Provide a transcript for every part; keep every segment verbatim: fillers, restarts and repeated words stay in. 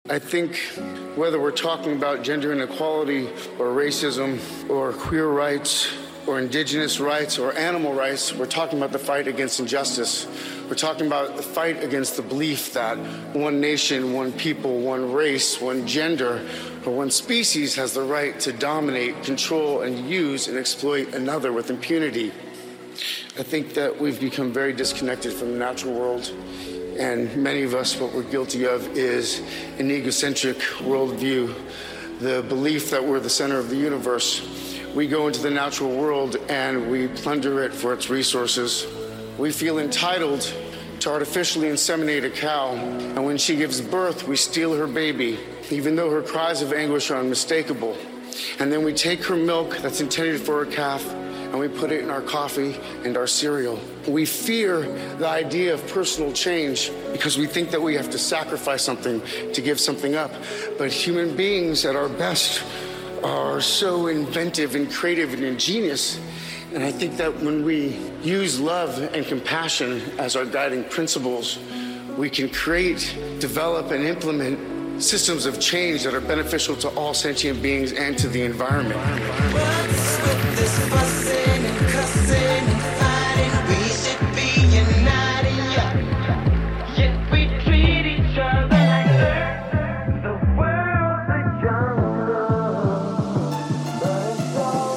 I think whether we're talking about gender inequality or racism or queer rights or indigenous rights or animal rights, we're talking about the fight against injustice. We're talking about the fight against the belief that one nation, one people, one race, one gender, or one species has the right to dominate, control, and use and exploit another with impunity. I think that we've become very disconnected from the natural world. And many of us, what we're guilty of is an egocentric worldview, the belief that we're the center of the universe. We go into the natural world and we plunder it for its resources. We feel entitled to artificially inseminate a cow, and when she gives birth, we steal her baby, even though her cries of anguish are unmistakable. And then we take her milk that's intended for her calf, and we put it in our coffee and our cereal. We fear the idea of personal change because we think that we have to sacrifice something to give something up. But human beings at our best are so inventive and creative and ingenious. And I think that when we use love and compassion as our guiding principles, we can create, develop, and implement systems of change that are beneficial to all sentient beings and to the environment. What's with this fussing and cussing and fighting? We should be united, yeah. Yet we treat each other like dirt. The world's a jungle, but it's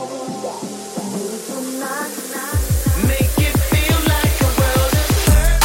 all not make it feel like a world of hurt.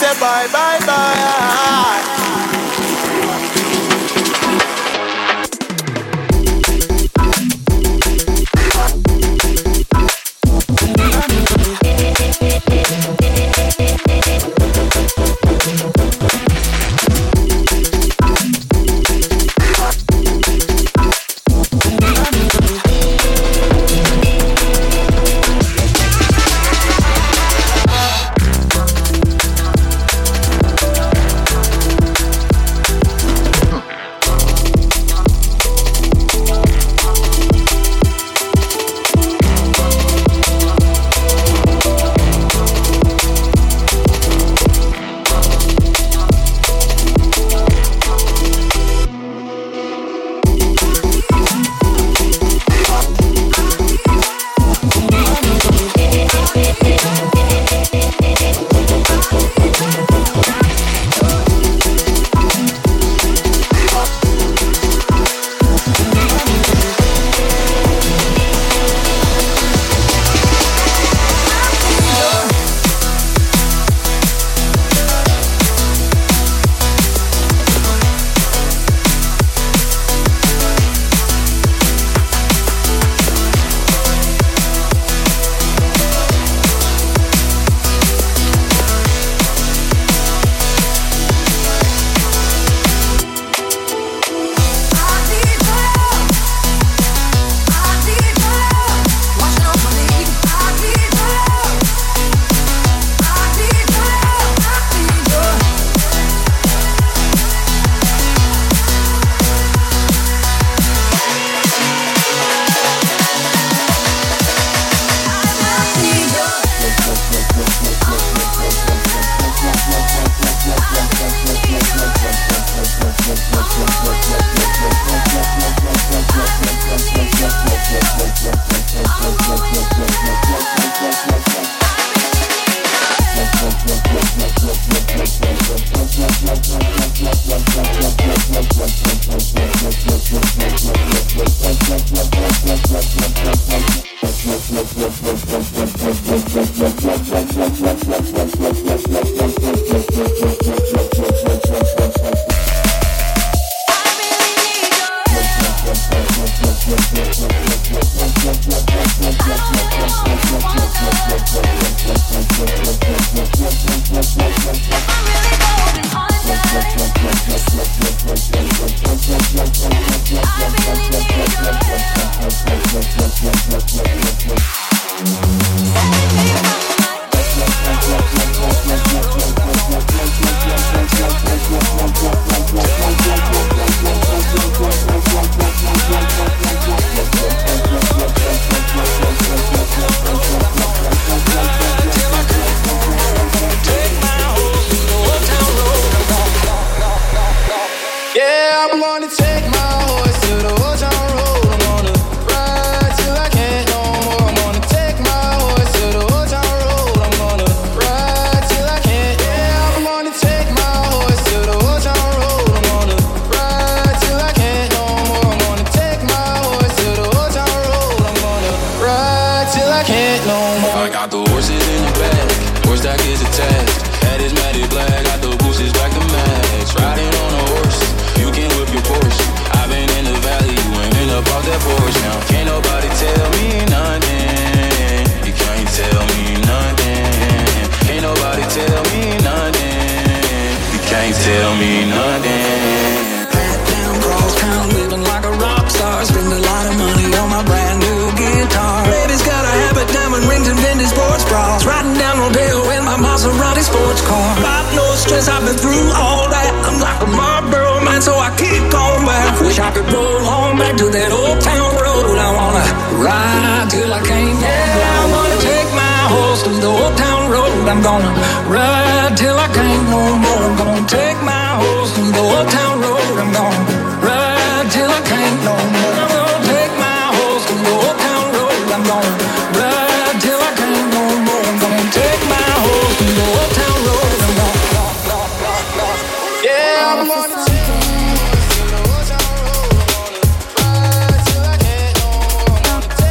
say bye, bye, bye.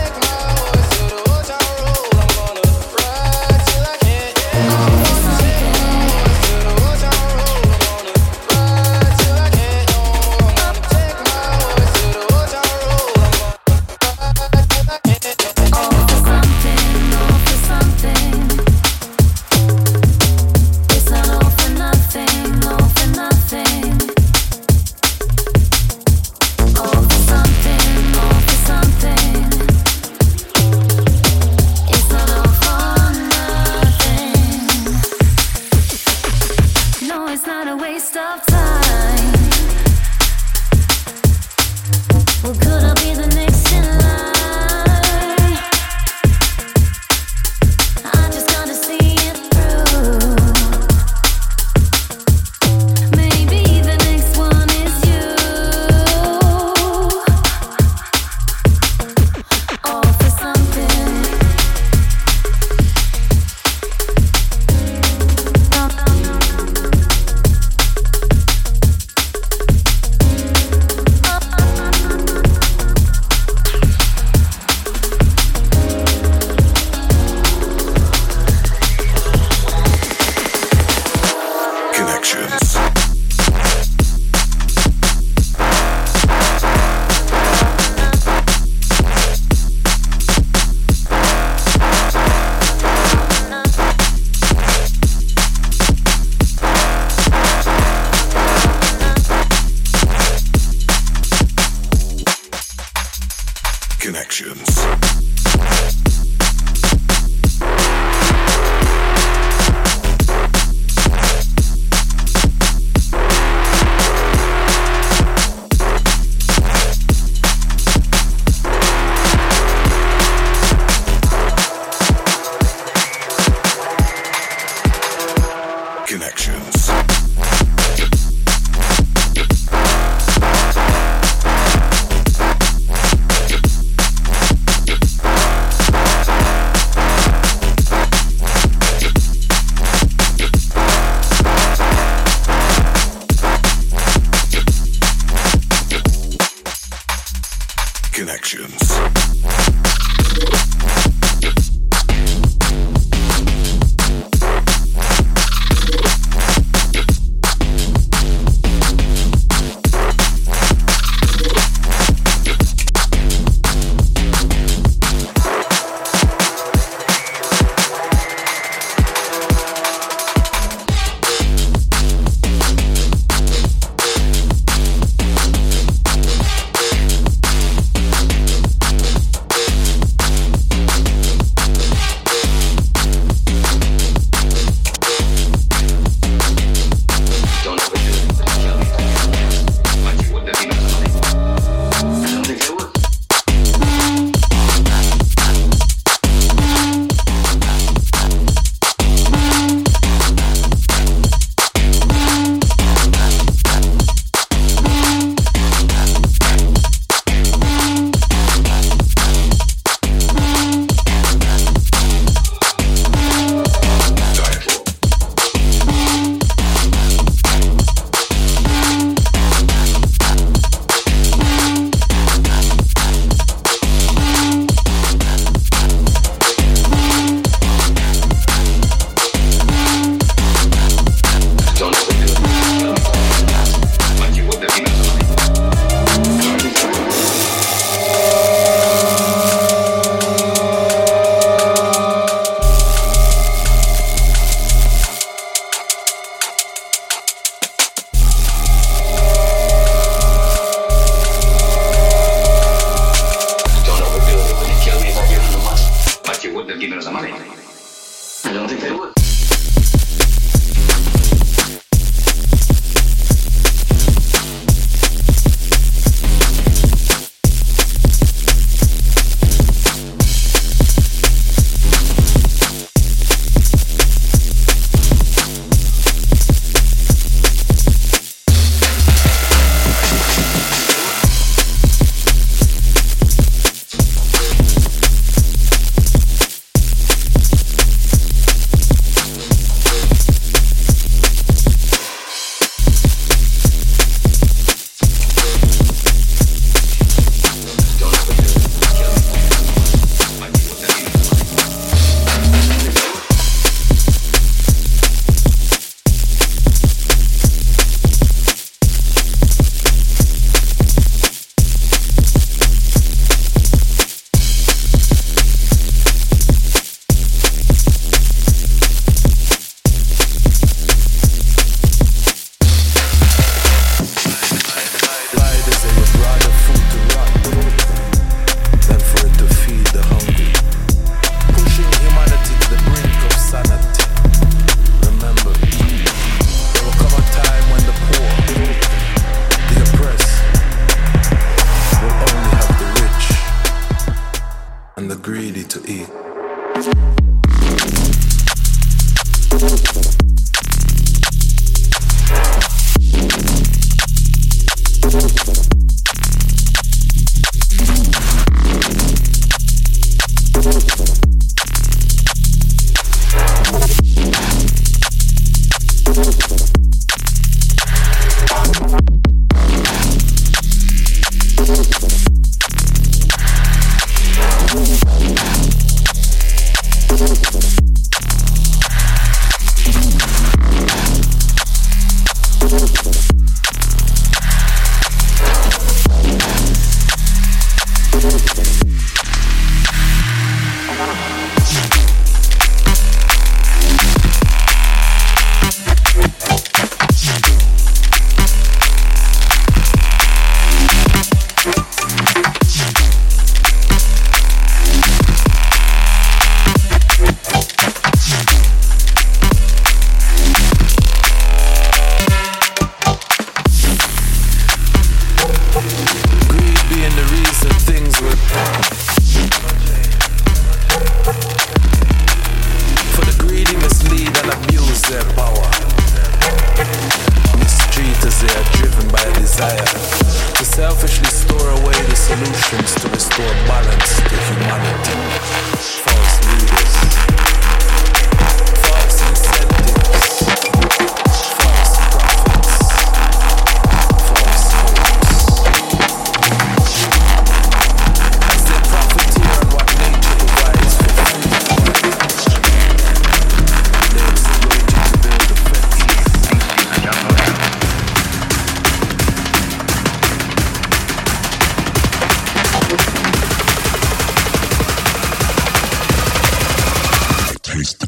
Thank you. Connections. Connections. Connections.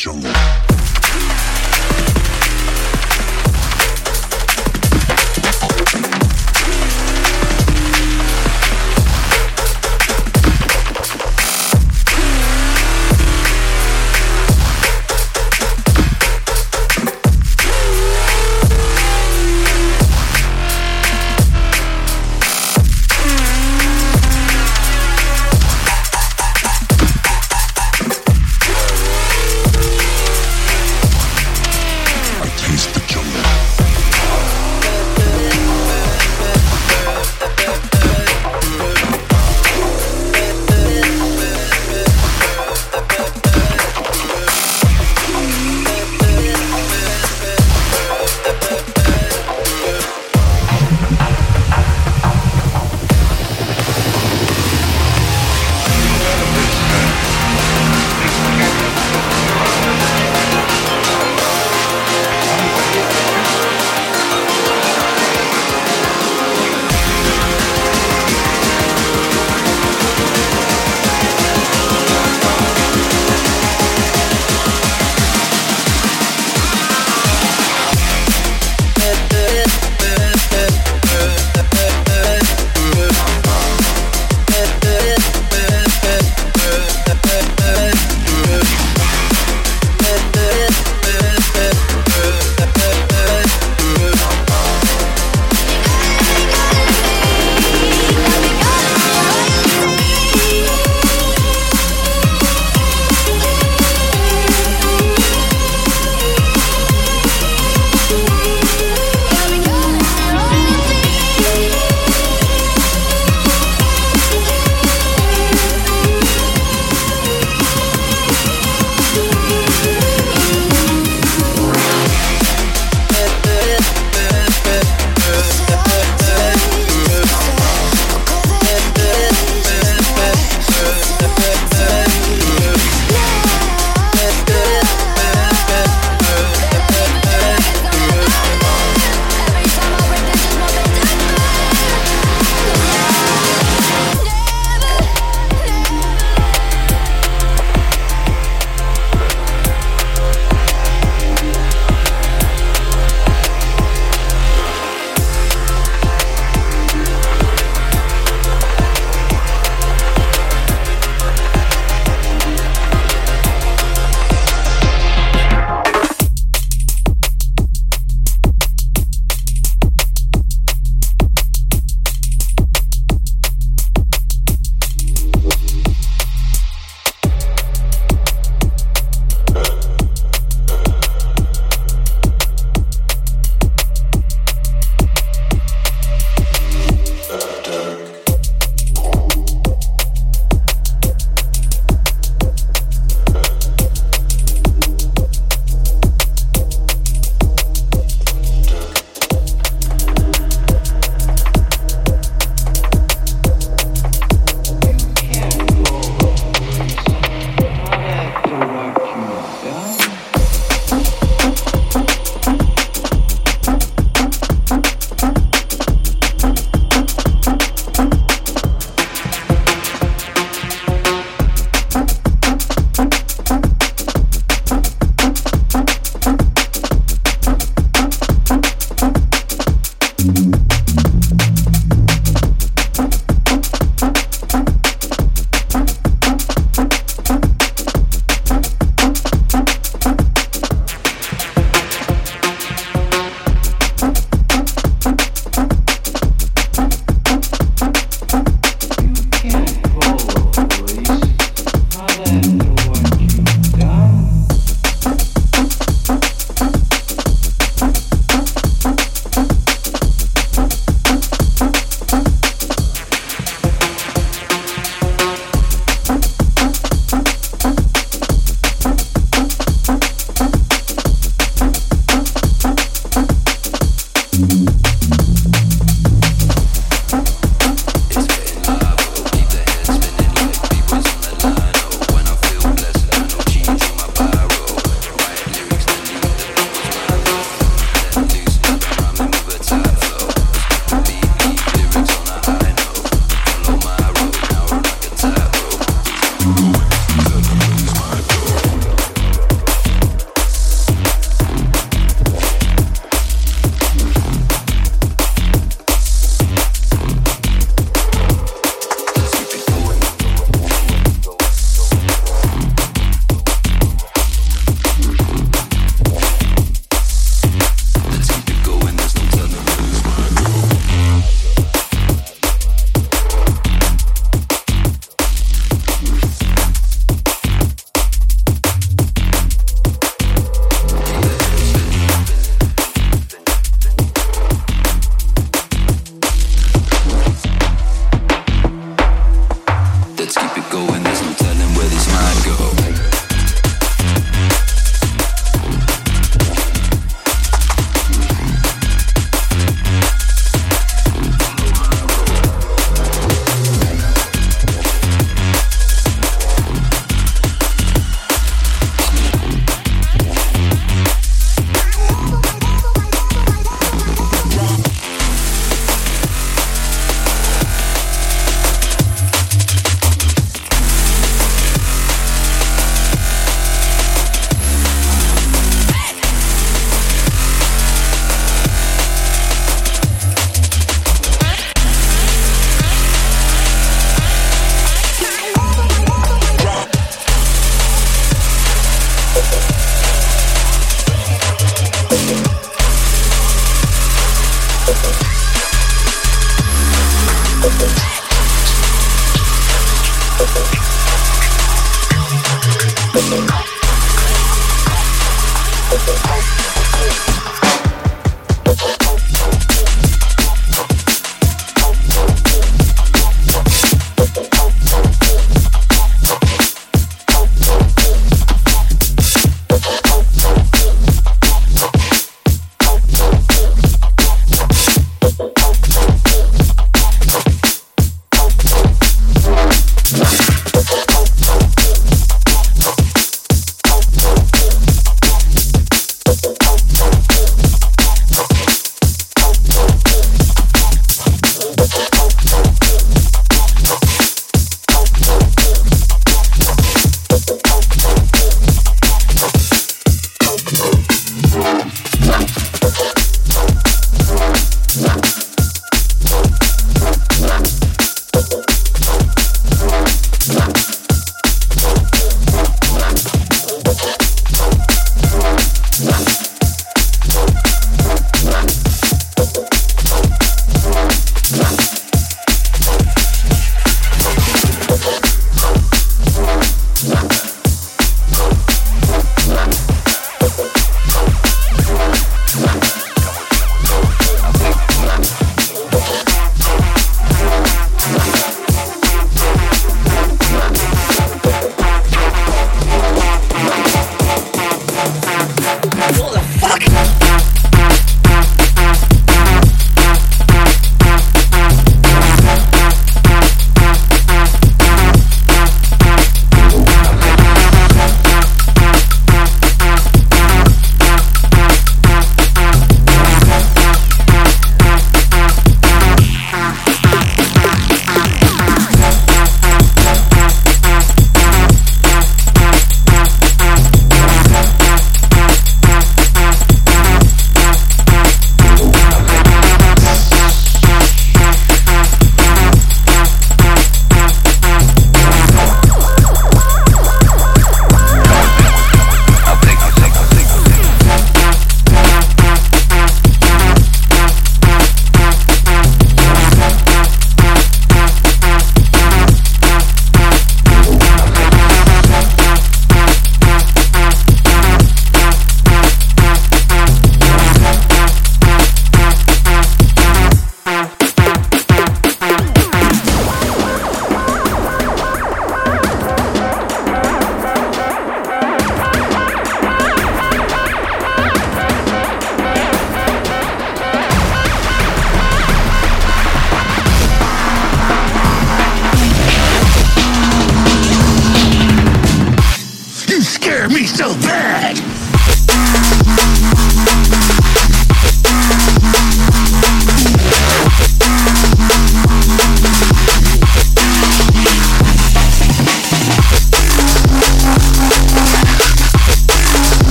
jungle. going, there's no telling where this might go.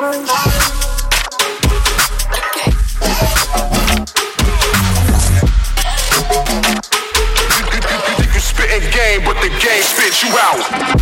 mind. You spitting game, but the game spits you out.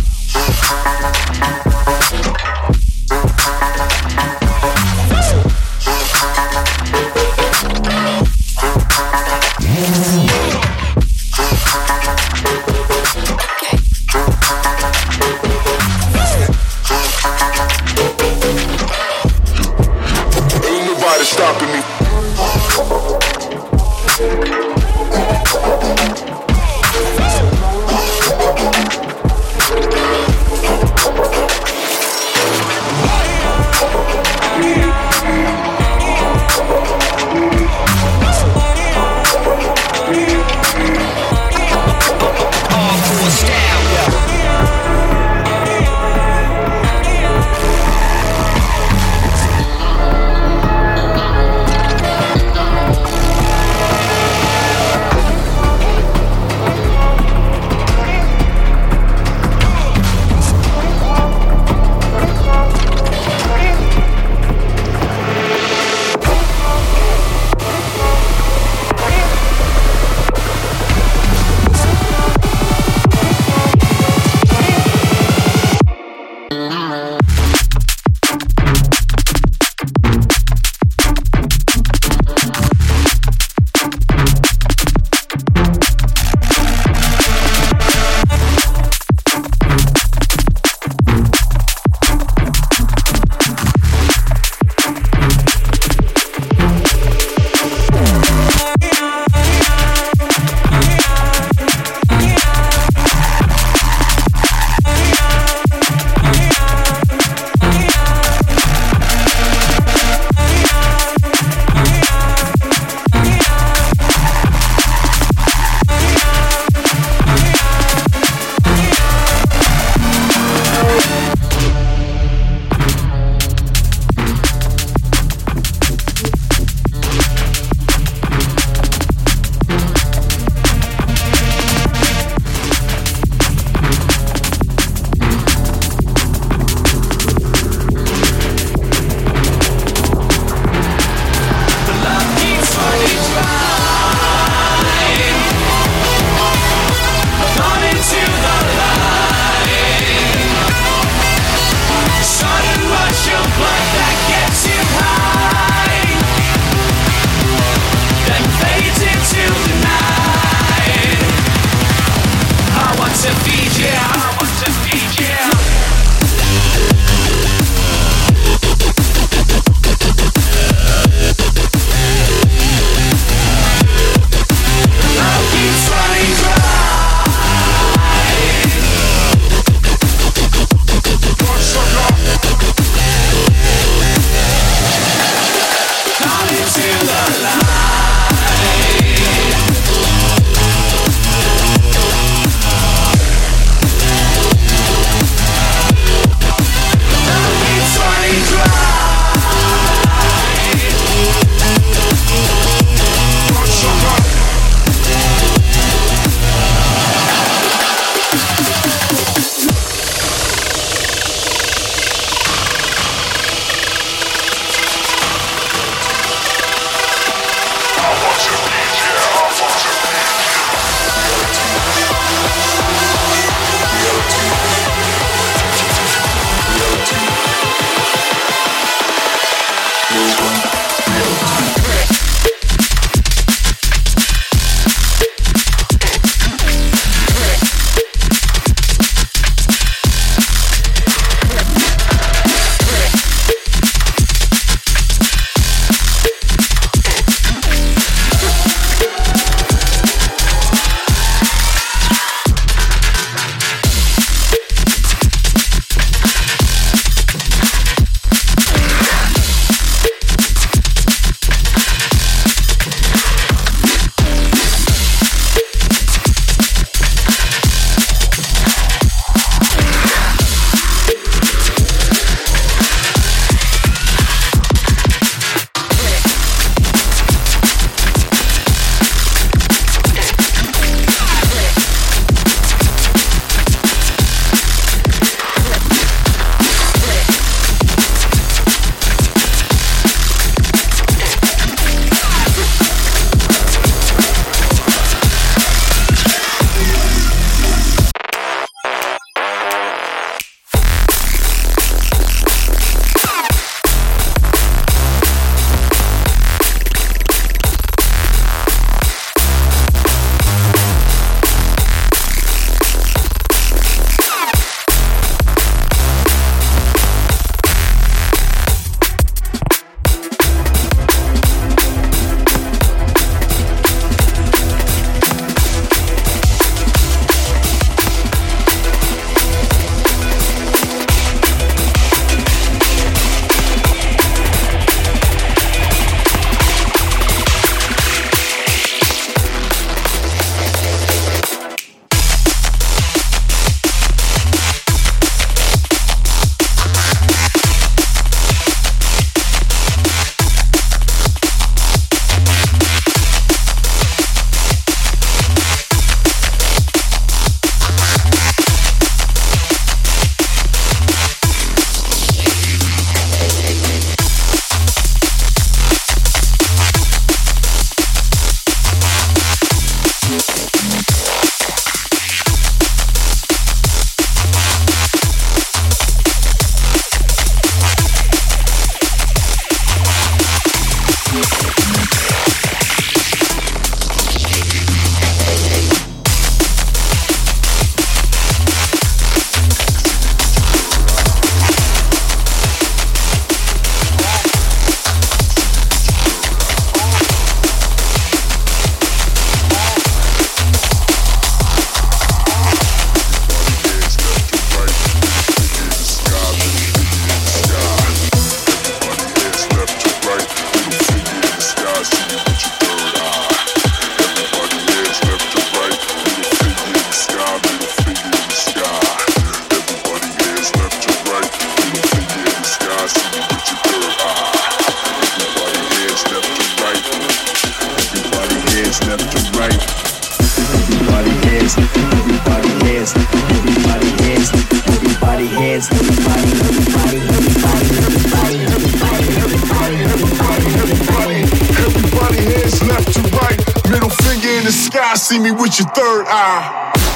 sky, see me with your third eye.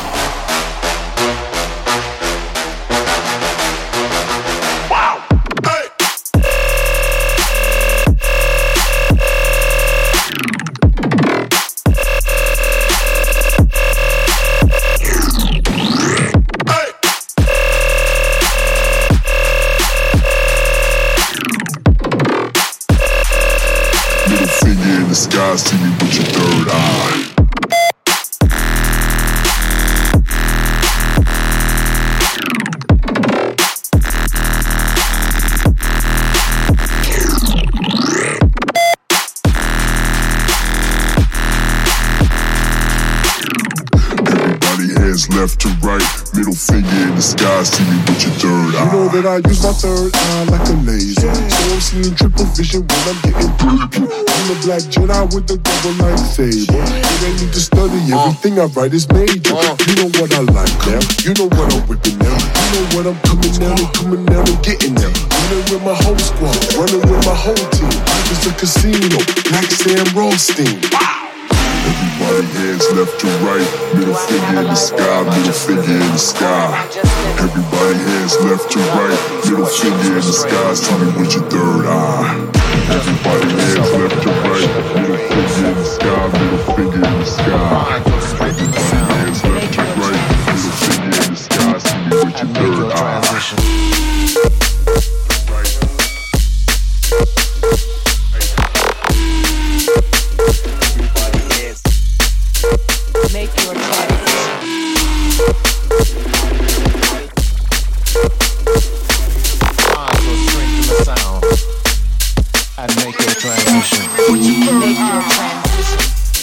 Sky, see me with your third eye. Everybody hands left to right, middle finger in the sky, see me with your third eye. You know that I use my third eye like a laser, so I'm seeing triple vision when I'm getting paper. I'm a black Jedi with the double lightsaber. It ain't need to study, everything I write is major. You know what I like now, you know what I'm whipping now. You know what I'm coming down and coming down and getting now. Running with my whole squad, running with my whole team. It's a casino, like Sam Rothstein. Everybody hands left to right, middle finger in the sky, middle finger in the sky. Everybody hands left to right, middle finger in the sky, see me with your third eye. Everybody hands left to right, middle finger in the sky, middle finger in the sky. Everybody hands left to right, middle finger in the sky, see me with your third eye. Make your transition. Find your strength in the sound and make your transition. Make your transition.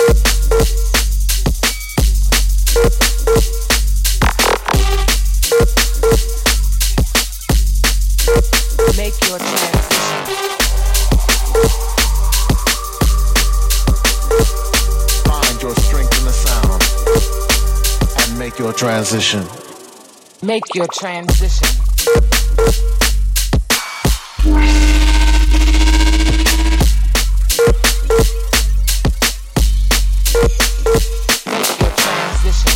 Make your transition. Find your strength in the sound and make your transition. Make your transition. Make your transition.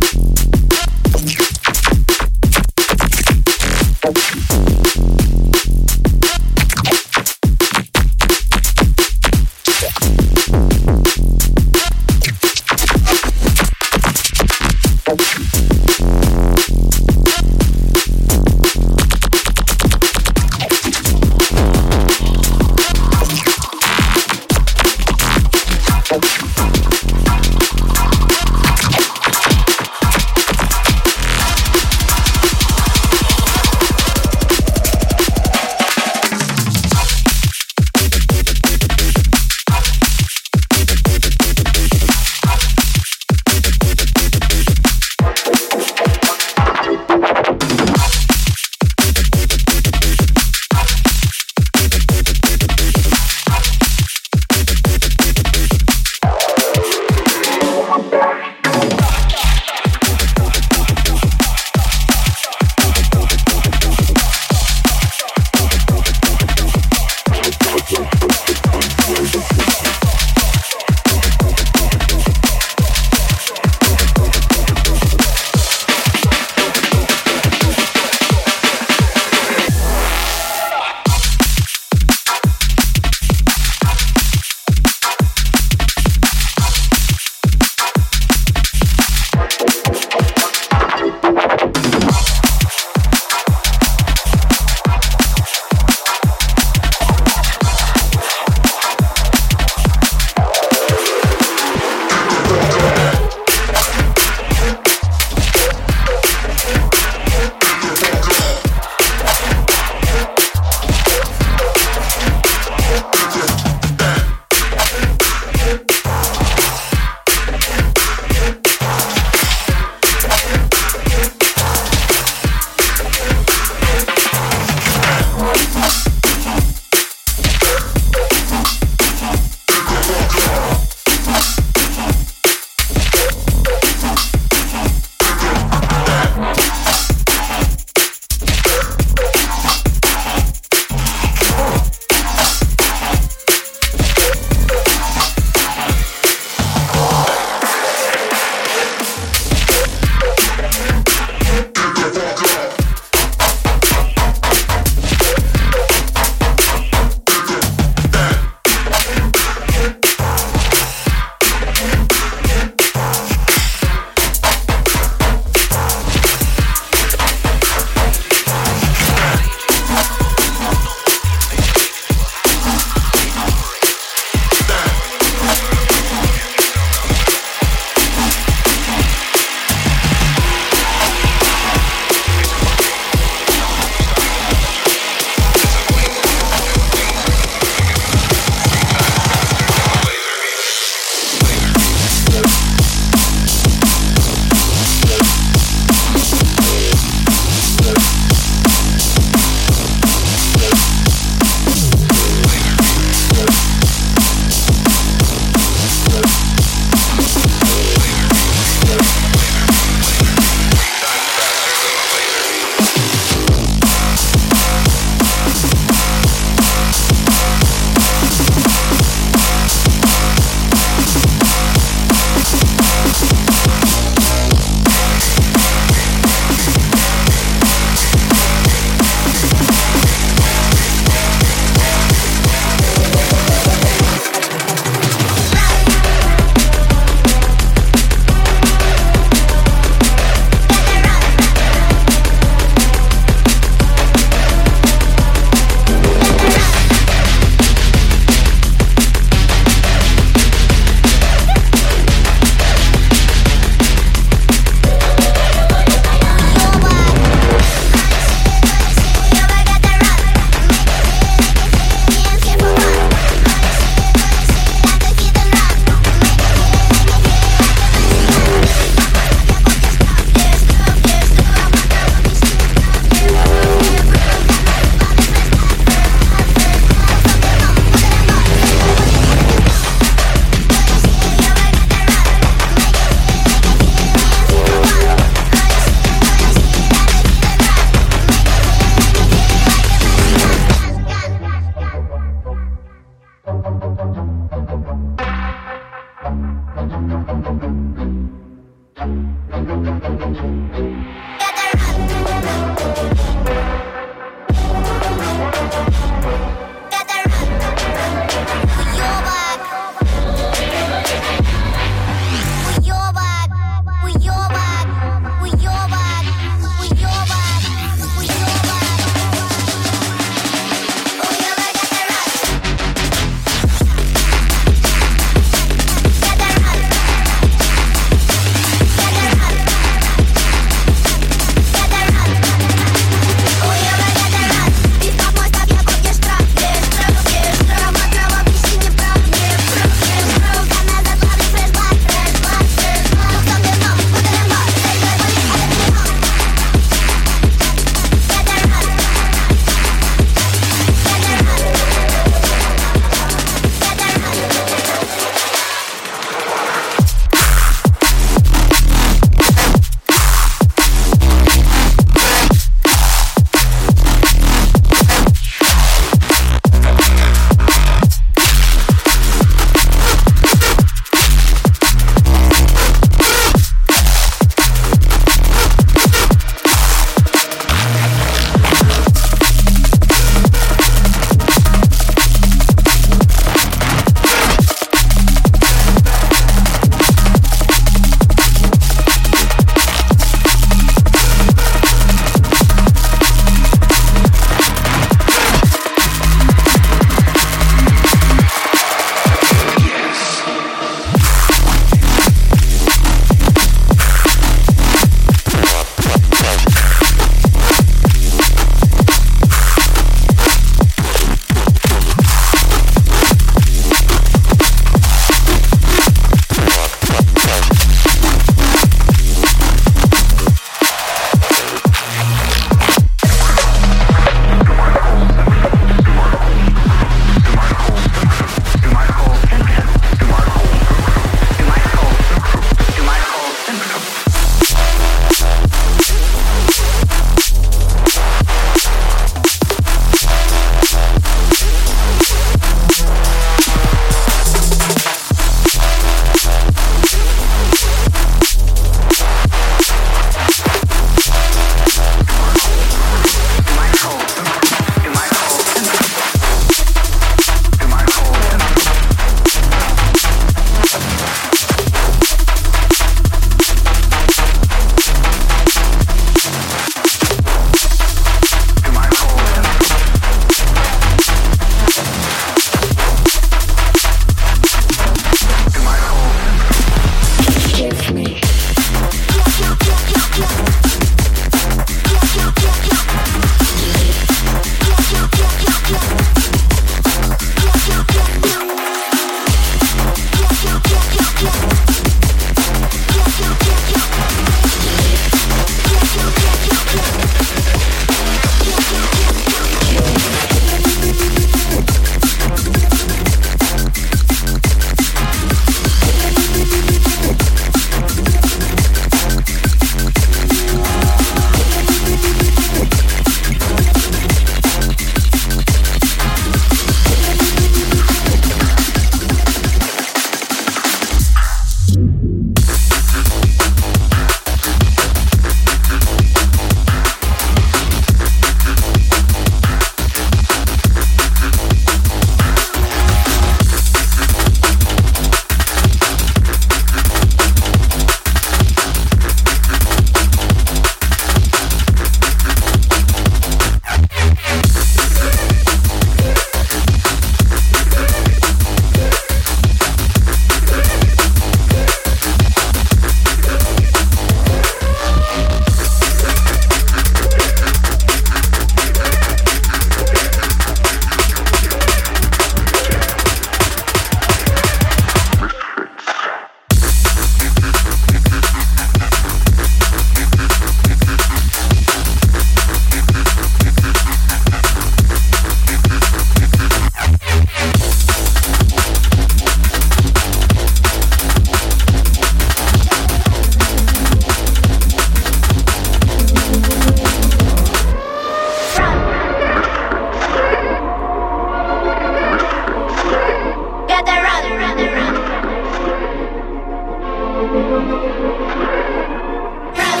Run.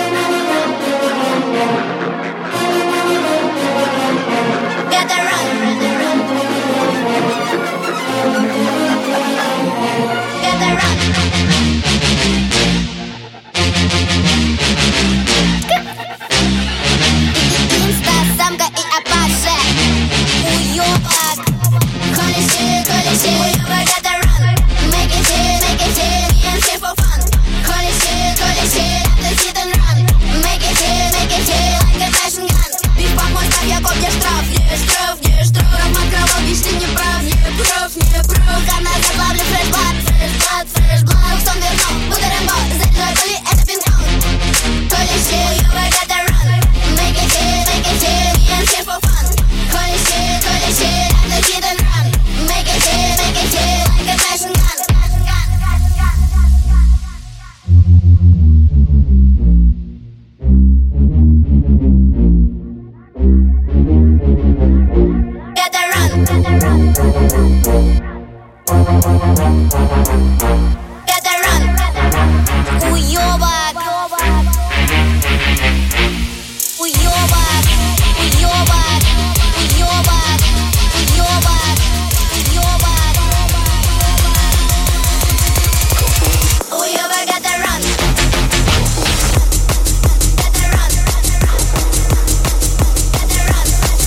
Самка и Апаше. Уёбок. Holy shit, holy shit. Уёбок gotta run. Make it hit, make it hit. Me and here for fun. Holy shit, holy shit. After hit and run. Make it hit, make it hit. Like a fashion gun. Биф помой, ставь, я копья штраф. Не штраф, не штраф. Роман кровавый, ты не прав. Не прав, не прав. Канал заплавлю, fresh blood, fresh blood, fresh blood. Сон вернул, буду Рэмбо. Заряжай пули, это пинг-понг. Holy shit, уёбок gotta run. Make it hit, make it hit. Me and here for fun. Holy shit, holy shit. After hit and run. Make it hit, make it hit. Like a fashion gun. Gotta run. Gotta run. Уёбок. Уёбок. Уёбок. Уёбок. Уёбок. Уёбок. Уёбок gotta run. Gotta run. Gotta run.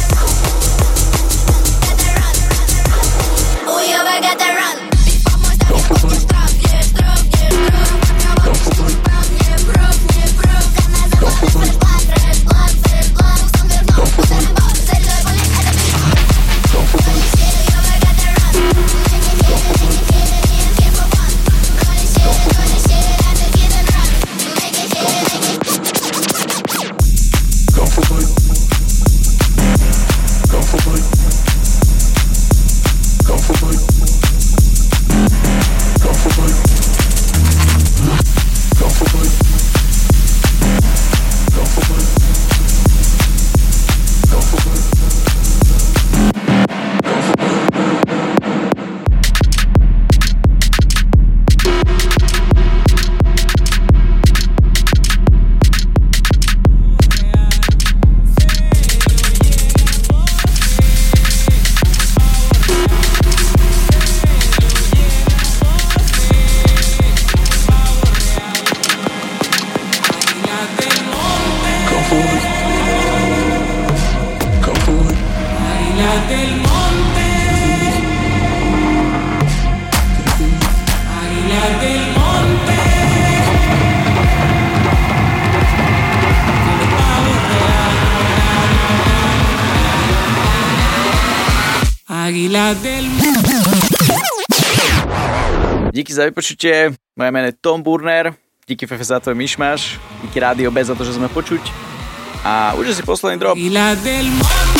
Gotta run. Уёбок gotta run. Помой, ставь, я копья штраф. Не штраф, не штраф. Не прав, не прав. Канал заплавлю, fresh blood, fresh blood, fresh blood. Сон вернул, буду Рэмбо. Заряжай пули, это пинг-понг. Holy shit, уёбок gotta run. Make it hit, make it hit. Me and here for fun. Holy shit, holy shit. After hit and run. Make it hit, make it hit. Go for it. Go for it. Go for it. Go for it. Go for it. Go for it. Go for it. Águila del Díky za vypočutie, moje meno je Tom Burner, díky Fefe za tvoj myšmaš, díky Rádio B za to, že sme počuť a už si posledný drop. Águila del